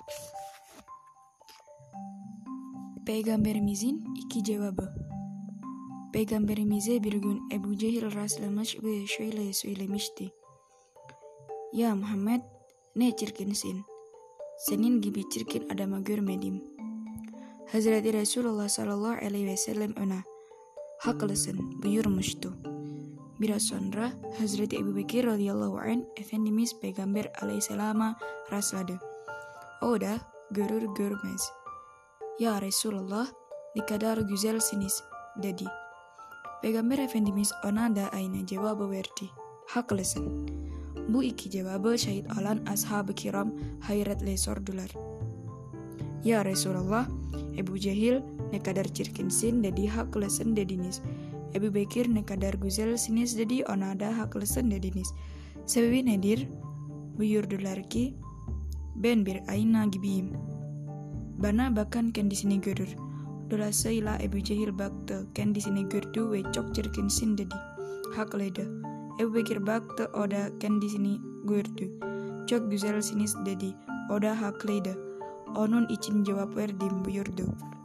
Peygamberimizin iki cevabı. Peygamberimize bir gün Ebu Cehil rastlamış ve şöyle söylemişti. Ya Muhammed, ne çirkinsin. Senin gibi çirkin adamı görmedim. Hazreti Resulullah sallallahu aleyhi ve sellem ona, haklısın buyurmuştu. Biraz sonra Hazreti Ebu Bekir radıyallahu anh Efendimiz Peygamber aleyhisselama rastladı. O da görür görmez, ya Resulullah, ne kadar güzelsiniz dedi. Peygamber Efendimiz ona da aynı cevabı verdi. Haklısın. Bu iki cevabı şahit olan ashab-ı kiram hayretle sordular. Ya Resulullah, Ebu Cehil ne kadar çirkinsin dedi, haklısın dediniz. Ebu Bekir ne kadar güzelsiniz dedi, ona da haklısın dediniz. Sebebi nedir? Buyurdular ki, ben bir ayna gibiyim. Bana bakın kendisini görür. Dolayısıyla Ebu Cehil baktı, kendisini gördü ve çok çirkinsin dedi. Haklıydı. Ebu Bekir baktı, o da kendisini gördü. Çok güzelsiniz dedi. O da haklıydı. Onun için cevap verdim buyurdu.